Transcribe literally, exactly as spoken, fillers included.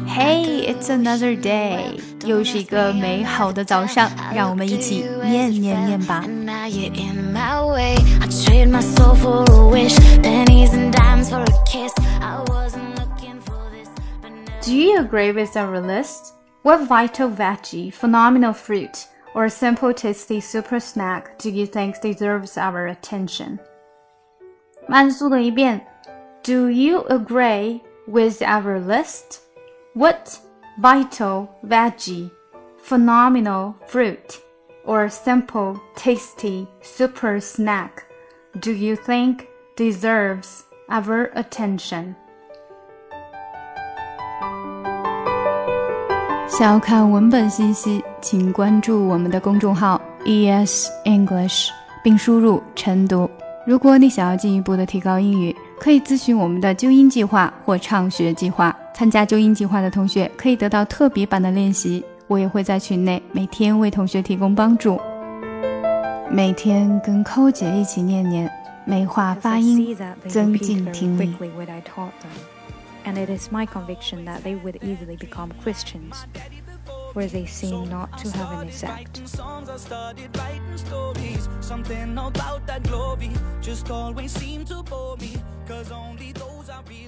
Hey, it's another day. 又是一个美好的早上，让我们一起念念念吧。Do you agree with our list? What vital veggie, phenomenal fruit, or simple tasty super snack do you think deserves our attention? 慢速的一遍 Do you agree with our list? What vital veggie, phenomenal fruit, or simple tasty super snack do you think deserves our attention? 想要看文本信息，请关注我们的公众号 E S English 并输入晨读。如果你想要进一步的提高英语，可以咨询我们的纠音计划或畅学计划。参加纠音计划的同学可以得到特别版的练习，我也会在群内每天为同学提供帮助。每天跟寇姐一起念念，美化发音，增进听力。 And it is my conviction that they would easily become Christians, where they seem not to have an exact. Something about that glory just always seemed to bore me, 'cause only those I really